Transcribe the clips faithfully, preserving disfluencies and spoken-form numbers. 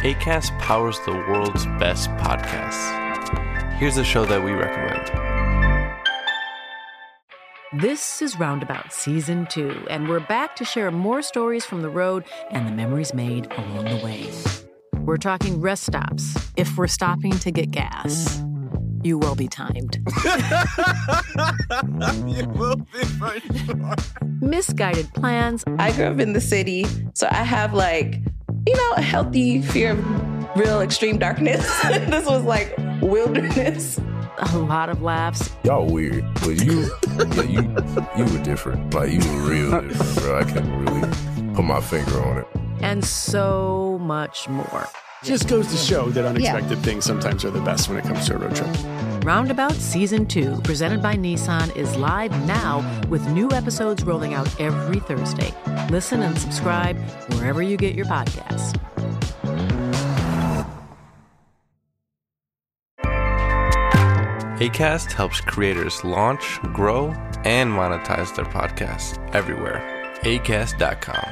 Acast powers the world's best podcasts. Here's a show that we recommend. This is Roundabout Season two, and we're back to share more stories from the road and the memories made along the way. We're talking rest stops, if we're stopping to get gas. You will be timed. You will be for sure. Misguided plans. I grew up in the city, so I have like, you know, a healthy fear of real extreme darkness. This was like wilderness. A lot of laughs. Y'all weird, but you, yeah, you, you were different. Like, you were real different, bro. I can't really put my finger on it. And so much more. Just goes to show that unexpected yeah. things sometimes are the best when it comes to a road trip. Roundabout Season two, presented by Nissan, is live now with new episodes rolling out every Thursday. Listen and subscribe wherever you get your podcasts. Acast helps creators launch, grow, and monetize their podcasts everywhere. acast dot com.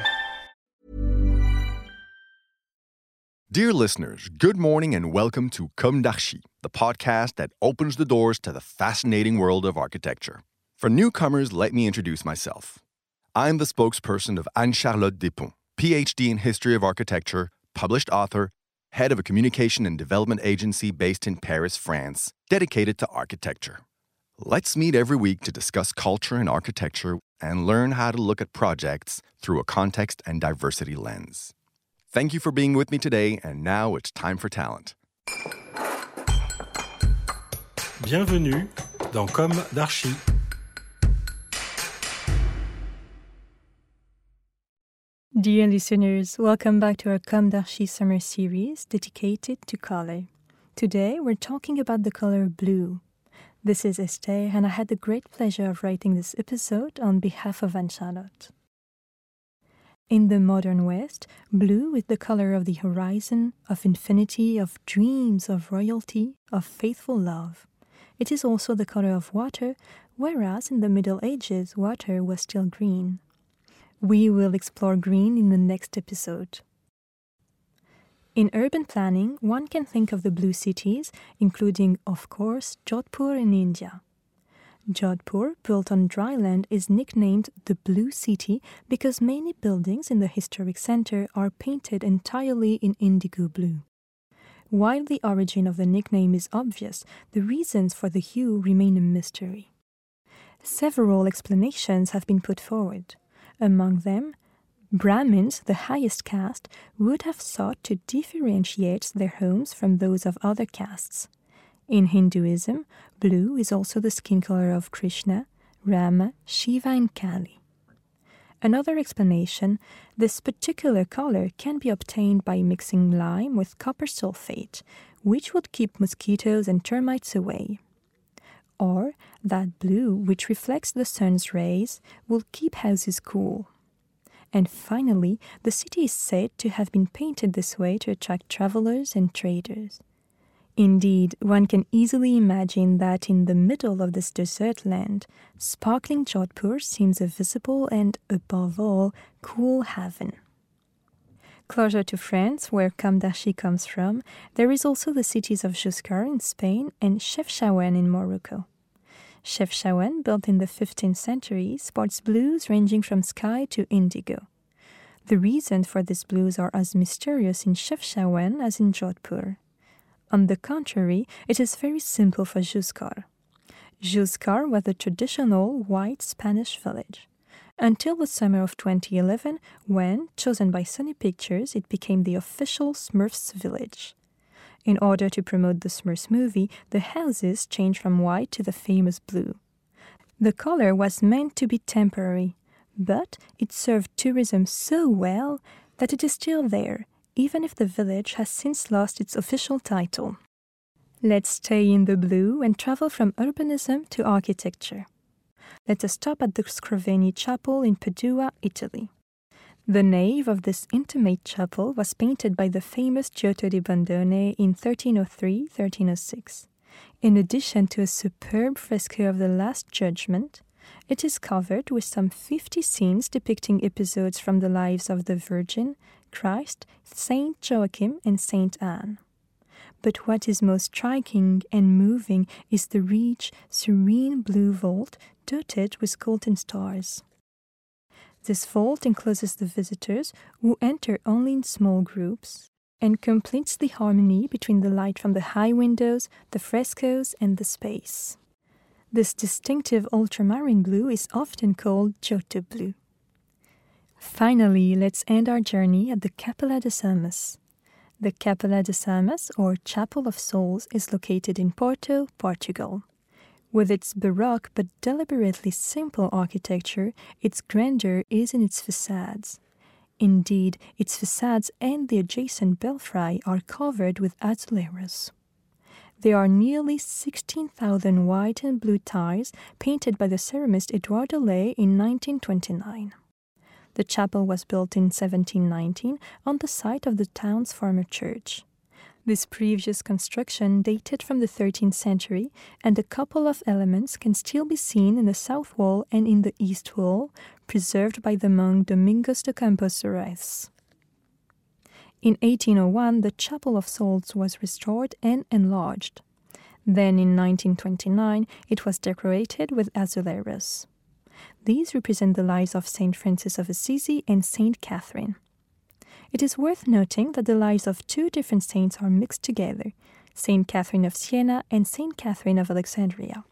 Dear listeners, good morning and welcome to Comme d'Archi, the podcast that opens the doors to the fascinating world of architecture. For newcomers, let me introduce myself. I'm the spokesperson of Anne-Charlotte Despont, P H D in History of Architecture, published author, head of a communication and development agency based in Paris, France, dedicated to architecture. Let's meet every week to discuss culture and architecture and learn how to look at projects through a context and diversity lens. Thank you for being with me today, and now it's time for talent. Bienvenue dans Comme d'Archi. Dear listeners, welcome back to our Comme d'Archi summer series dedicated to color. Today, we're talking about the color blue. This is Esther, and I had the great pleasure of writing this episode on behalf of Anne-Charlotte. In the modern West, blue is the color of the horizon, of infinity, of dreams, of royalty, of faithful love. It is also the color of water, whereas in the Middle Ages, water was still green. We will explore green in the next episode. In urban planning, one can think of the blue cities, including, of course, Jodhpur in India. Jodhpur, built on dry land, is nicknamed the Blue City because many buildings in the historic center are painted entirely in indigo blue. While the origin of the nickname is obvious, the reasons for the hue remain a mystery. Several explanations have been put forward. Among them, Brahmins, the highest caste, would have sought to differentiate their homes from those of other castes. In Hinduism, blue is also the skin color of Krishna, Rama, Shiva, and Kali. Another explanation, this particular color can be obtained by mixing lime with copper sulfate, which would keep mosquitoes and termites away. Or that blue, which reflects the sun's rays, will keep houses cool. And finally, the city is said to have been painted this way to attract travelers and traders. Indeed, one can easily imagine that in the middle of this desert land, sparkling Jodhpur seems a visible and, above all, cool haven. Closer to France, where Comme d'Archi comes from, there is also the cities of Juscar in Spain and Chefchaouen in Morocco. Chefchaouen, built in the fifteenth century, sports blues ranging from sky to indigo. The reasons for these blues are as mysterious in Chefchaouen as in Jodhpur. On the contrary, it is very simple for Juscar. Juscar was a traditional white Spanish village. Until the summer of twenty eleven, when, chosen by Sony Pictures, it became the official Smurfs village. In order to promote the Smurfs movie, the houses changed from white to the famous blue. The color was meant to be temporary, but it served tourism so well that it is still there, even if the village has since lost its official title. Let's stay in the blue and travel from urbanism to architecture. Let us stop at the Scrovegni Chapel in Padua, Italy. The nave of this intimate chapel was painted by the famous Giotto di Bondone in thirteen oh three to thirteen oh six. In addition to a superb fresco of the Last Judgment, it is covered with some fifty scenes depicting episodes from the lives of the Virgin, Christ, Saint Joachim, and Saint Anne. But what is most striking and moving is the rich, serene blue vault dotted with golden stars. This vault encloses the visitors, who enter only in small groups, and completes the harmony between the light from the high windows, the frescoes, and the space. This distinctive ultramarine blue is often called Giotto blue. Finally, let's end our journey at the Capela das Almas. The Capela das Almas, or Chapel of Souls, is located in Porto, Portugal. With its baroque but deliberately simple architecture, its grandeur is in its facades. Indeed, its facades and the adjacent belfry are covered with azuleros. There are nearly sixteen thousand white and blue tiles painted by the ceramist Eduardo Ley in nineteen twenty-nine. The chapel was built in seventeen nineteen on the site of the town's former church. This previous construction dated from the thirteenth century, and a couple of elements can still be seen in the south wall and in the east wall, preserved by the monk Domingos de Campos Soares. In eighteen oh one, the Chapel of Souls was restored and enlarged. Then in nineteen twenty-nine, it was decorated with azuleros. These represent the lives of Saint Francis of Assisi and Saint Catherine. It is worth noting that the lives of two different saints are mixed together, Saint Catherine of Siena and Saint Catherine of Alexandria.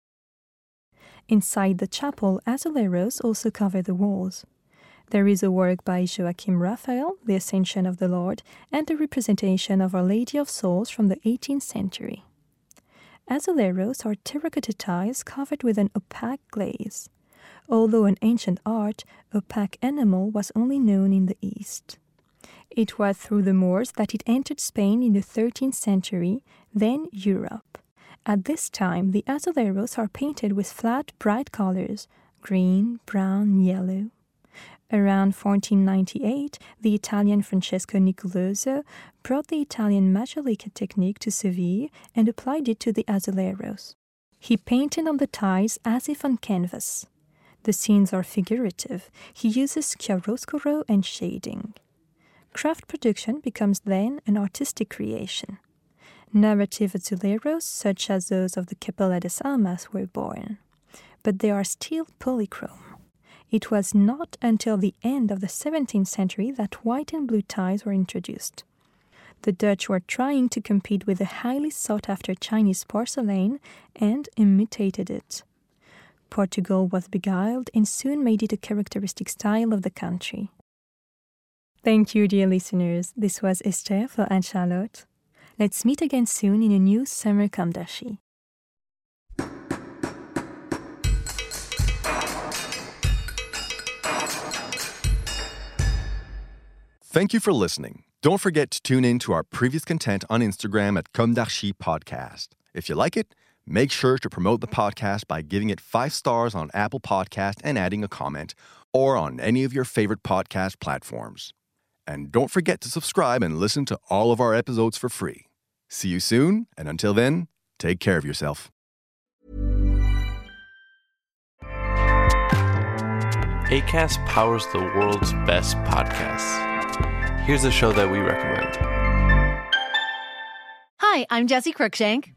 Inside the chapel, azuleros also cover the walls. There is a work by Joachim Raphael, The Ascension of the Lord, and a representation of Our Lady of Souls from the eighteenth century. Azuleros are terracotta tiles covered with an opaque glaze. Although an ancient art, opaque enamel was only known in the East. It was through the Moors that it entered Spain in the thirteenth century, then Europe. At this time, the azuleros are painted with flat, bright colors, green, brown, yellow. Around fourteen ninety-eight, the Italian Francesco Nicoloso brought the Italian Majolica technique to Seville and applied it to the azuleros. He painted on the tiles as if on canvas. The scenes are figurative. He uses chiaroscuro and shading. Craft production becomes then an artistic creation. Narrative azuleros, such as those of the Capela das Almas, were born. But they are still polychrome. It was not until the end of the seventeenth century that white and blue tiles were introduced. The Dutch were trying to compete with the highly sought-after Chinese porcelain and imitated it. Portugal was beguiled and soon made it a characteristic style of the country. Thank you, dear listeners. This was Esther for Anne-Charlotte. Let's meet again soon in a new Summer Comme d'Archi. Thank you for listening. Don't forget to tune in to our previous content on Instagram at Comme d'Archi Podcast. If you like it, make sure to promote the podcast by giving it five stars on Apple Podcast and adding a comment, or on any of your favorite podcast platforms. And don't forget to subscribe and listen to all of our episodes for free. See you soon, and until then, take care of yourself. Acast powers the world's best podcasts. Here's a show that we recommend. Hi, I'm Jessie Cruikshank.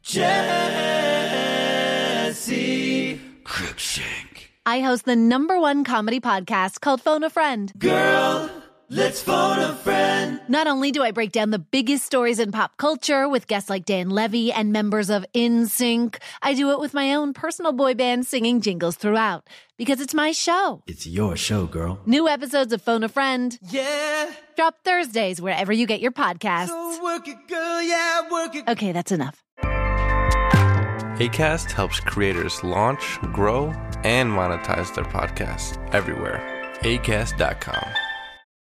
Jessie Cruikshank. I host the number one comedy podcast called Phone a Friend. Girl, let's phone a friend. Not only do I break down the biggest stories in pop culture with guests like Dan Levy and members of N Sync, I do it with my own personal boy band singing jingles throughout. Because it's my show. It's your show, girl. New episodes of Phone a Friend. Yeah. Drop Thursdays wherever you get your podcasts. So work it, girl, yeah, work it. Okay, that's enough. Acast helps creators launch, grow, and monetize their podcasts everywhere. Acast dot com.